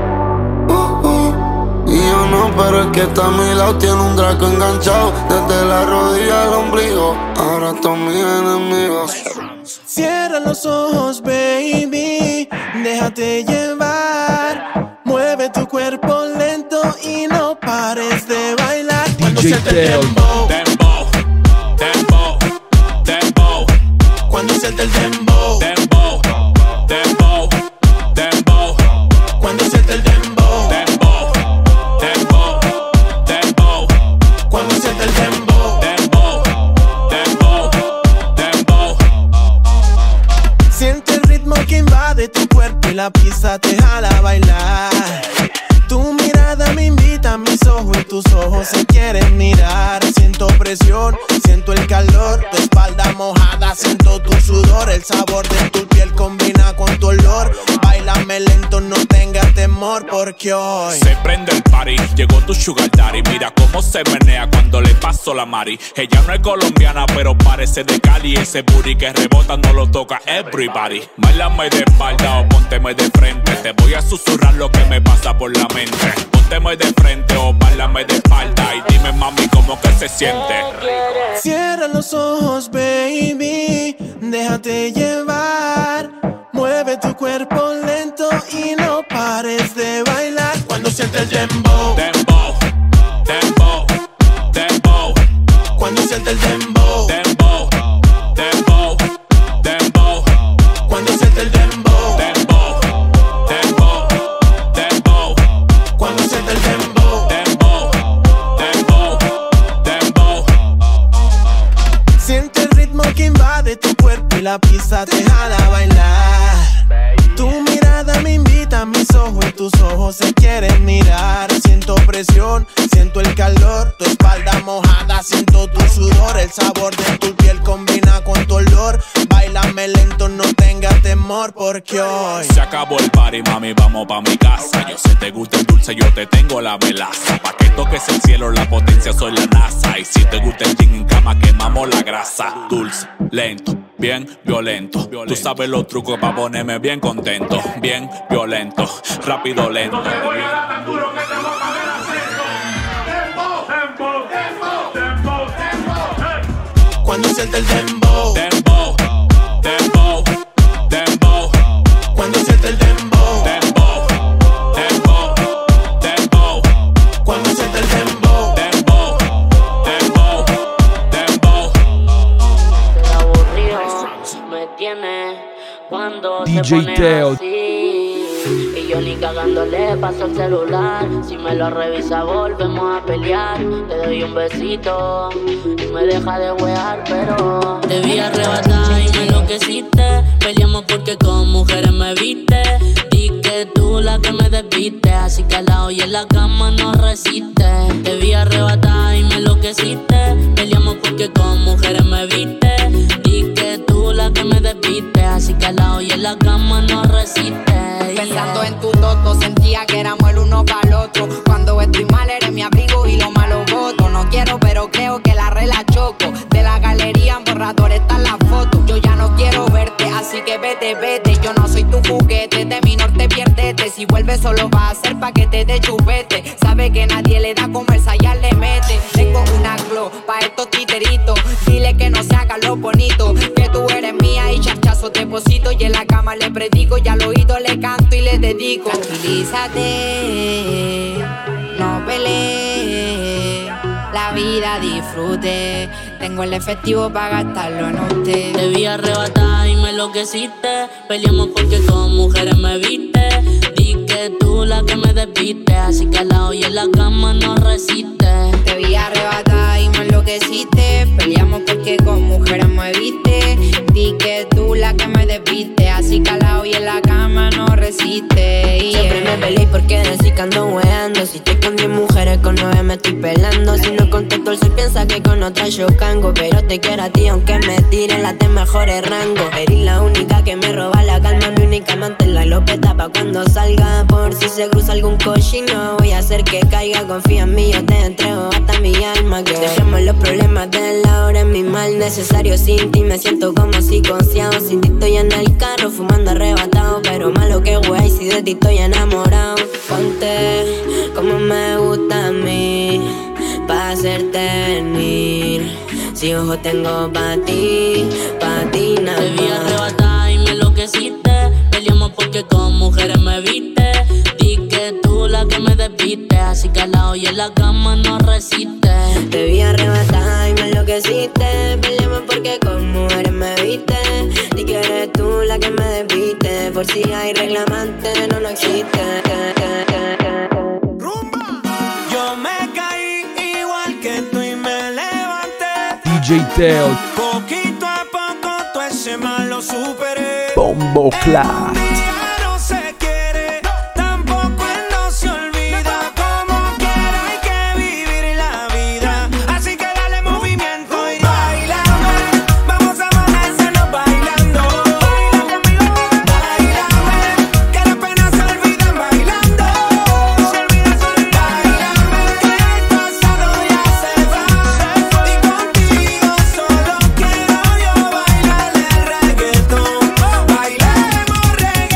S4: Y yo no, pero el que está a mi lado tiene un Draco enganchado desde la rodilla al ombligo. Ahora todos mis enemigos.
S6: Cierra los ojos, baby, déjate llevar. Mueve tu cuerpo lento y no pares de bailar. Cuando siente el dembow, dembow, dembow, dembow. Cuando siente el dembow, dembow, dembow, dembow. Cuando siente el dembow, dembow, dembow, dembow. Cuando siente el dembow, dembow, dembow, dembow. Siente el ritmo que invade tu cuerpo y la pista te jala a bailar. Tu mirada me invita a mis ojos y tus ojos se quieren mirar. Siento presión, siento el calor, tu espalda mojada, siento tu sudor. El sabor de tu piel combina con tu olor. Báilame lento, no tengas temor porque hoy
S20: se prende el party, llegó tu sugar daddy. Mira cómo se menea cuando le paso la mari. Ella no es colombiana pero parece de Cali. Ese booty que rebota no lo toca everybody. Báilame de espalda o pónteme de frente. Te voy a susurrar lo que me pasa por la mente. Pónteme de frente o báilame de espalda. Y dime mami cómo que se siente.
S6: Cierra los ojos, baby, déjate llevar. Mueve tu cuerpo lento y no pares de bailar. Cuando siente el dembow, dembow, dembow, dembow. Cuando siente el dembow, dembow.
S21: que invade tu cuerpo y la pista te jala a bailar. Tu mirada me invita a mis ojos y tus ojos se quieren mirar. Siento presión, siento el calor, tu espalda mojada, siento tu sudor. El sabor de tu piel combina con tu olor. Báilame lento, no tengas temor porque hoy
S20: se acabó el party, mami, vamos pa' mi casa. Yo sé te gusta el dulce, yo te tengo la melaza. Pa' que toques el cielo, la potencia, soy la NASA. Y si te gusta el gin en cama, quemamos la grasa. Dulce, lento, bien violento. Tú sabes los trucos pa' ponerme bien contento. Bien violento, rápido, lento.
S21: Cuando suelta el dembow,
S20: dembow, dembow, dembow.
S21: Cuando suelta el dembow,
S20: dembow, dembow, dembow.
S21: Cuando suelta el dembow,
S20: dembow, dembow, dembow.
S19: Qué aburrido me tiene cuando
S14: DJ
S19: se pone
S14: Teo.
S19: así. Y yo ni cagándole paso el celular. Si me lo revisa volvemos a pelear. Le doy un besito y me deja de wear, pero te vi arrebatar y me enloqueciste. Peleamos porque con mujeres me viste. Di que tú la que me desviste, así que al lado y en la cama no resiste. Te vi arrebatar y me enloqueciste. Peleamos porque con mujeres me viste. Di que tú la que me desviste, así que al lado y en la cama no resiste.
S22: Pensando en tu toto, sentía que éramos el uno para el otro. Cuando estoy mal eres mi abrigo y lo malo voto. No quiero pero creo que la regla choco. De la galería en borrador están las fotos. Yo ya no quiero verte, así que vete, vete. Yo no soy tu juguete, de mi norte piérdete. Si vuelves solo va a ser pa' que te dé chupete. Sabe que nadie le da comersa, ya le mete. Tengo una glow pa' estos titeritos. Dile que no se haga lo bonito, que tú eres mía y charchazo te deposito. Y en la cama le predico y al oído le canto y le dedico. Tranquilízate, no pelees, la vida disfrute. Tengo el efectivo para gastarlo en usted.
S19: Te vi arrebatar y me enloqueciste. Peleamos porque con mujeres me viste. Di que tú la que me desviste, así que al lado y en la cama no resiste.
S22: Te vi arrebatar y me enloqueciste. Peleamos porque con mujeres me viste. Di que tú la que me desviste, así que al lado y en la cama no resiste.
S19: Siempre me peleé porque decís que ando weando. Si estoy con 10 mujeres, con 9 me estoy pelando. Si no contesto, él se piensa que con otra yo cango. Pero te quiero a ti aunque me tiren las de mejores rangos. Eres la única que me roba la calma. Mi única amante la lopeta pa' cuando salga. Por si se cruza algún cochino, voy a hacer que caiga. Confía en mí, yo te entrego hasta mi alma. Que dejemos los problemas de la hora en mi mal necesario. Sin ti me siento como psicoseado. Sin ti estoy en el carro fumando arrebatado. Pero malo que wey, si de ti estoy enamorado. Ponte como me gusta a mí, pa' hacerte venir. Si ojo tengo pa' ti nada más. Te vi arrebatar y me enloqueciste. Peleamos porque con mujeres me viste. Di que tú la que me desviste, así que al lado y en la cama no resiste. Te vi arrebatar y me enloqueciste. Peleamos porque con mujeres me viste. Di que eres tú la que me desviste. Por si hay reclamante, no existe.
S15: Yo me caí igual que tú y me levanté.
S14: DJ Teo.
S15: Poquito a poco todo ese mal lo superé.
S14: Bombo Clap.
S15: No se quiere, tampoco él no se olvida. Como quiera hay que vivir la vida. Así que dale movimiento y bailame. Vamos a amanecernos bailando. Baila conmigo, bailame. Que las penas se olvidan bailando. Se olvidan solo bailame. Que el pasado ya se va. Y contigo solo quiero yo bailar el reggaetón. Bailemos reggaetón.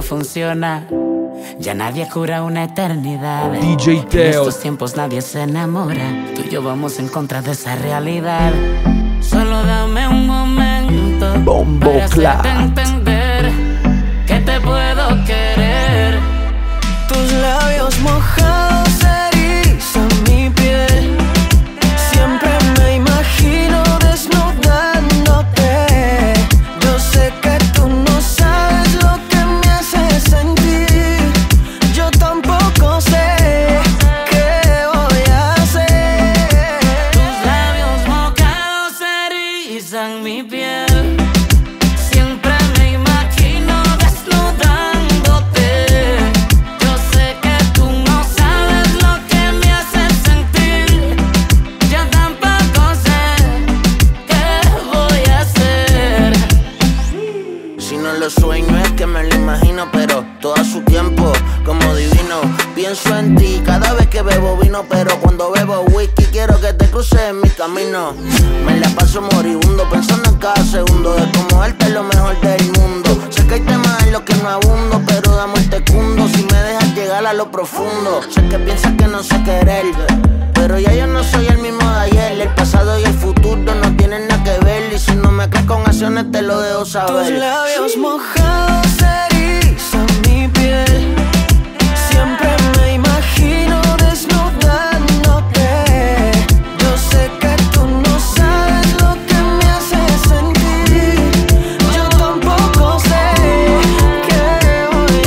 S2: no funciona. Ya nadie cura una eternidad.
S14: DJ Teo.
S2: En estos tiempos nadie se enamora. Tú y yo vamos en contra de esa realidad. Solo dame un momento para hacerte entender que te puedo querer.
S6: Tus labios mojados erizan mi piel. Siempre me imagino desnudándote. Yo sé que tú no sabes lo que me hace sentir. Yo tampoco sé qué voy a hacer.
S2: Tus labios mojados erizan mi piel. Siempre me imagino desnudándote. Yo sé que tú no sabes lo que me hace sentir. Yo tampoco sé qué voy a hacer.
S5: Si no lo sueño es que me lo imagino, pero todo a su tiempo, como divino. Pienso en ti cada vez que bebo vino, pero cuando bebo whisky quiero que te cruces en mi camino. Me la paso moribundo pensando en cada segundo de cómo darte lo mejor del mundo. Sé que hay temas en los que no abundo, pero dame el tecundo si me dejas llegar a lo profundo. Sé que piensas que no sé querer, pero ya yo no soy el mismo de ayer. El pasado y el futuro no tienen nada que ver, y si no me crees con acciones te lo dejo saber.
S6: Tus labios mojados erizan mi piel. Siempre me imagino desnudándote. Yo sé que tú no sabes lo que me hace sentir. Yo tampoco sé qué voy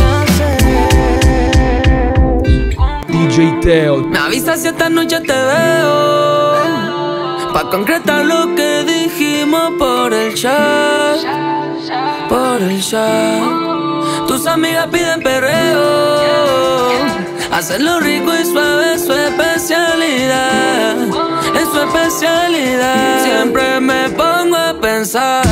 S6: a hacer.
S14: DJ Teo.
S6: Me avisas si esta noche te veo, pa' concretar lo que dijimos por el chat. Por el chat. Tus amigas piden perreo. Hacerlo rico y suave es su especialidad. Es su especialidad. Siempre me pongo a pensar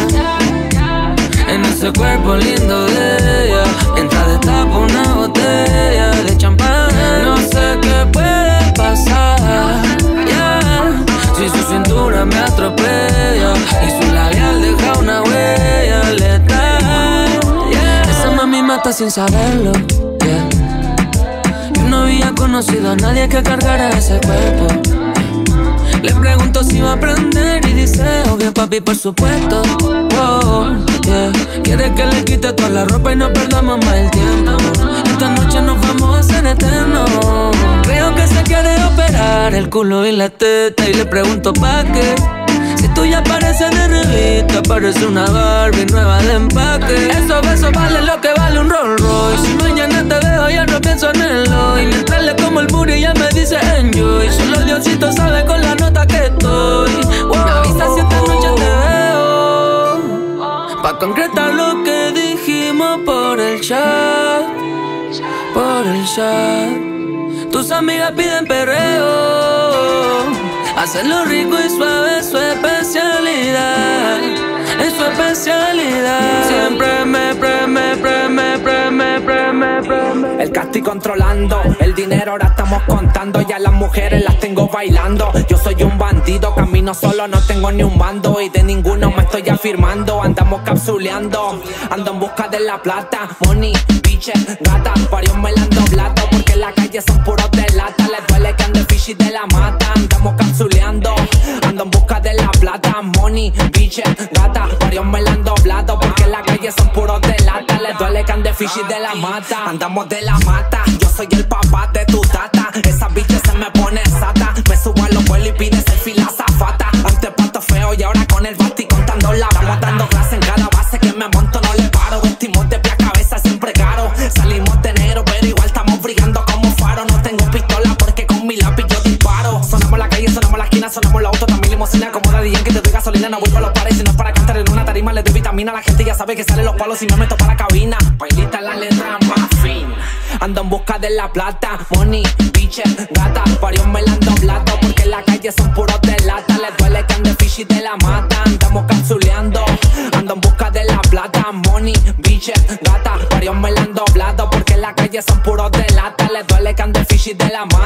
S6: en ese cuerpo lindo de ella, mientras destapa una botella de champán. No sé qué puede pasar, yeah. Si su cintura me atropella y su labial deja una huella letal, yeah. Esa mami mata sin saberlo, yeah. Yo no había conocido a nadie que cargara ese cuerpo. Le pregunto si va a aprender y dice, obvio papi, por supuesto. Oh, yeah. Quiere que le quite toda la ropa y no perdamos más el tiempo. Esta noche nos vamos a hacer eternos. Creo que se quiere operar el culo y la teta, y le pregunto ¿pa' qué? Si tú ya pareces de revista, parece una Barbie nueva de empaque. Esos besos valen lo que vale un Rolls Royce. Si mañana te veo ya no pienso en el hoy. Mientras le como el booty ella me dice enjoy. Solo Diosito sabe con la nota que estoy. Wow. Me avisa si esta noche te veo, pa' concretar lo que dijimos por el chat. Por el chat. Tus amigas piden perreo. Hacerlo rico y suave es su especialidad. Es su especialidad. Siempre me preme.
S17: El casting controlando, el dinero ahora estamos contando. Ya las mujeres las tengo bailando. Yo soy un bandido, camino solo, no tengo ni un bando. Y de ninguno me estoy afirmando. Andamos capsuleando, ando en busca de la plata. Money, bitches, gata, varios me la han doblado. Porque en la calle son puros de lata. Les duele que ande fishy de la mata. Andamos capsuleando, ando en busca de la plata. Money, bitches, gata, varios me la han doblado. Porque en la calle son puros de lata. Les duele que ande fishy de la mata. Andamos de la mata, yo soy el papá de tu tata. Esa bitch se me pone sata. Me subo a los vuelos y pide selfie la zafata. Antes pato feo y ahora con el basti contando la plata. Estamos dando clase en cada base que me monto, no le paro. Vestimos de pie a cabeza siempre caro. Salimos de enero pero igual estamos brillando como faro. No tengo pistola porque con mi lápiz yo disparo. Sonamos la calle, sonamos la esquina, sonamos la auto, también limosina. Como Daddy Yankee te doy gasolina, no voy pa' los pares. Si no es para cantar en una tarima le doy vitamina. La gente ya sabe que salen los palos y me meto pa' la cabina. Bailita la letra más fina. Ando en busca de la plata. Money, bitches, gata, varios me la han doblado. Porque en la calle son puros de lata. Les duele que ande fishy de la mata. Andamos capsuleando, ando en busca de la plata. Money, bitches, gata, varios me la han doblado. Porque en la calle son puros de lata. Les duele que ande fishy de la mata.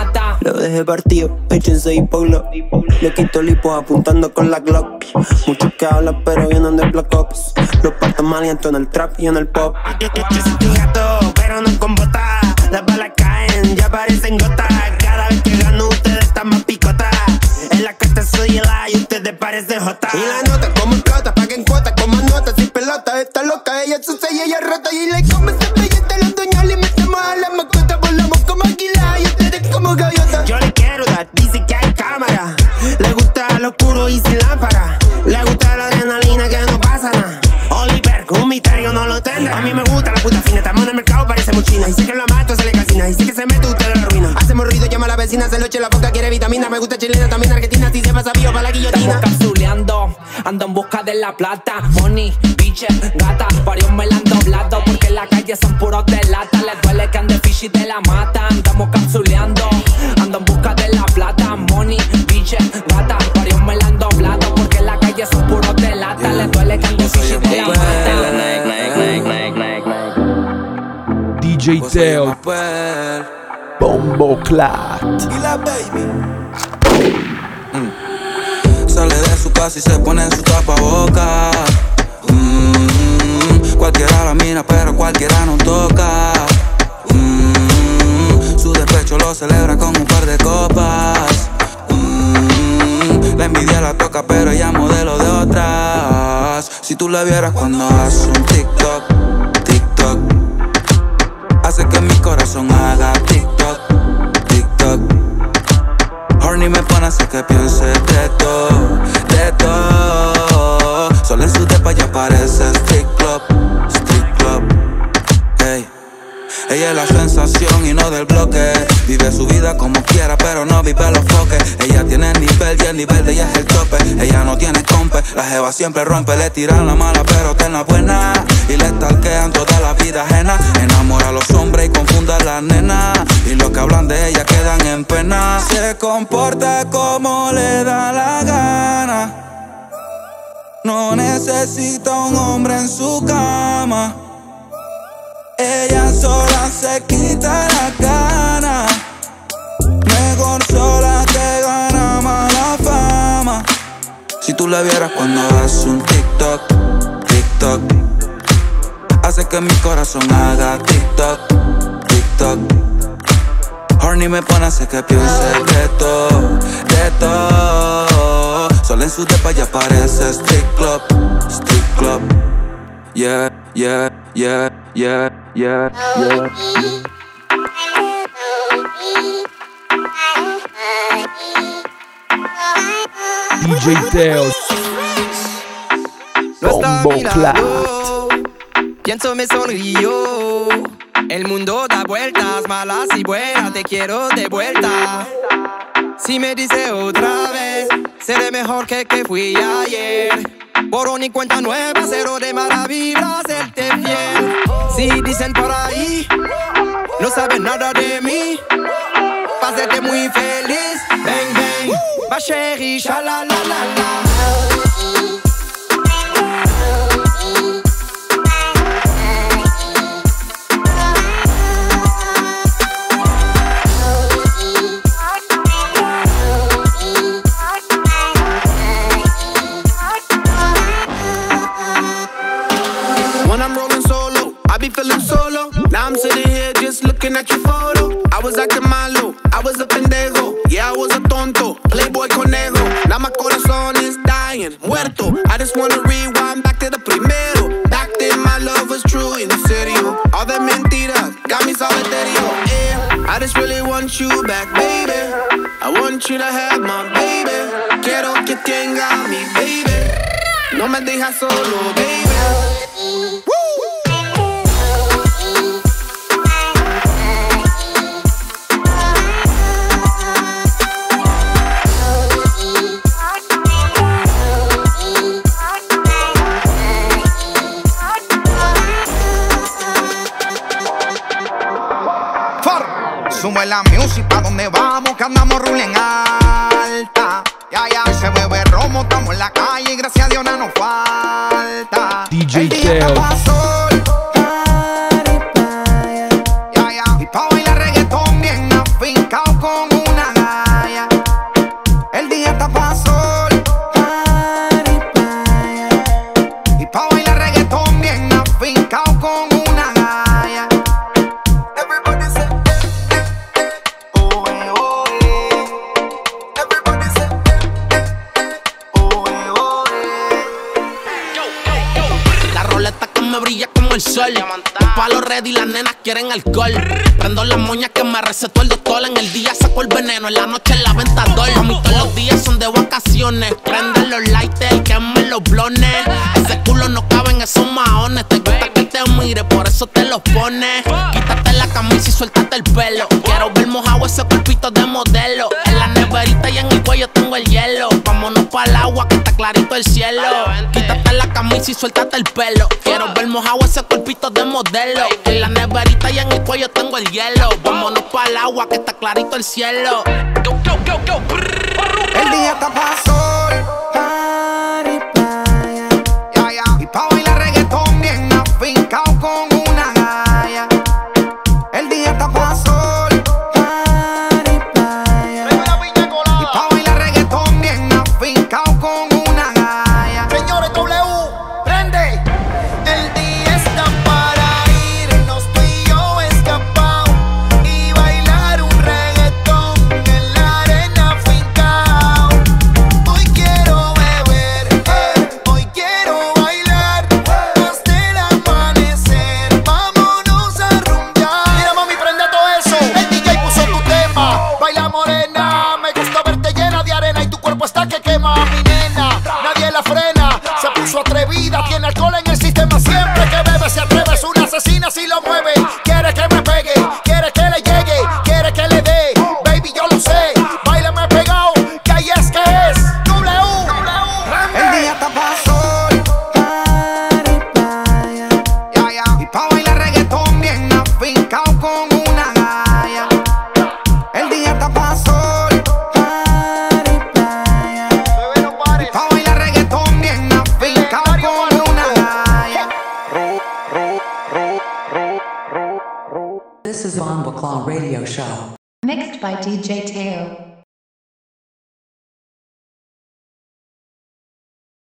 S1: Lo dejé partido, échense hipoglo. Le quito el hipo apuntando con la Glock. Muchos que hablan pero vienen de Black Ops. Los partos malientos en el trap y en el pop. Yo soy tu gato, pero no con botas. Las balas caen, ya parecen gotas. Cada vez que gano ustedes están más picotas. En la costa soy el A y ustedes parecen J. Y la nota como explota, paguen cuotas como notas. Sin pelota, está loca, ella sucia y ella rota. Y le come ese billete a los dueños. Le metemos a la mascota, volamos como águila y ustedes como gaviota. Yo le quiero dar, dice que hay cámara. Le gusta lo oscuro y sin lámpara. Le gusta la adrenalina que no pasa nada. Oliver, un misterio no lo tendrá. A mí me gusta la puta fina, estamos en el mercado, parece mochina. Y sé que lo mato, se le calcina. Y sé que se mete, usted lo arruina. Hacemos ruido, llama a la vecina, se lo eche la boca, quiere vitamina. Me gusta chilena, también argentina, si se pasa vivo para la guillotina.
S7: Estamos capsuleando, ando en busca de la plata. Money, biche, gata, varios me la han doblado. Porque en la calle son puros de lata. Les duele que ande fishy y te la mata. Andamos capsuleando, ando en busca de la plata. Money, biche, gata, varios me la han doblado. Porque en la calle son puros de lata. Les duele que ande fishy y te la mata.
S14: DJ Teo, Bombo Clat.
S15: Y la baby sale de su casa y se pone en su tapaboca. Cualquiera la mira, pero cualquiera no toca. Su despecho lo celebra con un par de copas. La envidia la toca, pero ella modelo de otras. Si tú la vieras cuando hace un TikTok, TikTok, hace que mi corazón haga TikTok, TikTok. Horny me pone a hacer que piense de todo, de todo. Solo en su depa ya parece street club, street club. Hey. Ella es la sensación y no del bloque. Vive su vida como quiera, pero no vive los foques. Ella tiene nivel y el nivel de ella es el tope. Ella no tiene compe, la jeva siempre rompe. Le tiran la mala, pero ten la buena. Y le stalkean toda la vida ajena. Enamora a los hombres y confunde a las nenas. Y los que hablan de ella quedan en pena. Se comporta como le da la gana. No necesita un hombre en su cama. Ella sola se quita la gana. Mejor sola que gana mala fama. Si tú la vieras cuando hace un TikTok, TikTok, hace que mi corazón haga TikTok, TikTok. Horny me pone a hacer que piense de todo, de todo. Solo en su depa ya parece street club, street club. Yeah, yeah, yeah, yeah, yeah, yeah.
S14: DJ Teo, Bombo Clat.
S23: Pienso me sonrío. El mundo da vueltas, malas y buenas, te quiero de vuelta. Si me dice otra vez, seré mejor que fui ayer. Borrón y cuenta nueva, cero de mala vibra, serte fiel. Si dicen por ahí, no saben nada de mí, pa' hacerte muy feliz. Bang, bang, ma chérie, sha-la-la-la-la.
S21: Feeling solo. Now I'm sitting here just looking at your photo. I was acting malo, I was a pendejo. Yeah, I was a tonto, playboy conejo. Now my corazón is dying, muerto. I just wanna rewind back to the primero. Back then my love was true, en serio. All the mentiras got me solitario. Yeah, I just really want you back, baby. I want you to have my baby. Quiero que tenga mi baby. No me dejas solo, baby.
S24: Sube la music pa' donde vamos, que andamos ruling alta. Ya, ya, se bebe romo, estamos en la calle y gracias a Dios no nos falta.
S14: DJ
S24: el día
S14: Teo.
S24: tapa sol. Ya, ya, y pa' bailar reggaetón bien afincao con una está pa' sol, party, playa. Y pa' bailar reggaetón bien afincao con una galla. Everybody say, oh, oh, everybody say, oh, oh,
S9: La roleta que me brilla como el sol. Palo ready, las nenas quieren alcohol. Prendo las moñas que me recetó el doctor. En el día saco el veneno, en la noche en la ventador. A mí todos los días son de vacaciones. Prende los lighters, quemen los blones. Ese culo no cabe en esos maones. Te gusta que te mire, por eso te los pones. Quítate la camisa y suéltate el pelo. Quiero ver mojado ese cuerpito de modelo. En la neverita y en el cuello tengo el hielo. Vámonos pa'l agua que está clarito el cielo. Quítate la camisa y suéltate el pelo. Quiero ver mojado ese cuerpito de modelo. En la neverita y en el cuello tengo el hielo. Vámonos pa'l agua que está clarito el cielo. Go, go, go, go.
S24: el día está pa' sol, party, playa. Y pa' bailar reggaetón bien afincao con una galla. El día está pa' sol, party, playa. Y pa' bailar reggaetón bien afincao con una galla.
S10: Señores, W, prende. El día está para irnos tú y yo escapao y bailar un reggaetón en la arena afincao. Hoy quiero beber, hoy quiero bailar hasta el amanecer. Vámonos a rumbear. Mira mami, prende todo eso. El DJ puso tu tema. Baila morena, me gusta verte llena de arena y tu cuerpo está que quema. Mi nena, nadie la frena. Se puso atrevida, tiene alcohol en el sistema. Siempre que bebe se atreve, es una asesina si lo mueve. Quiere que me pegue, quiere que le llegue, quiere que le dé. Baby, yo lo sé, báilame pegado, que ahí es que es. W,
S24: el día está pa' sol, party, playa. Y pa' bailar reggaetón bien afincao con una galla. El día está pa' sol, party, playa. Y pa' bailar reggaetón bien afincao con una galla.
S3: This is Von Baclaw Radio Show. Mixed by DJ Teo.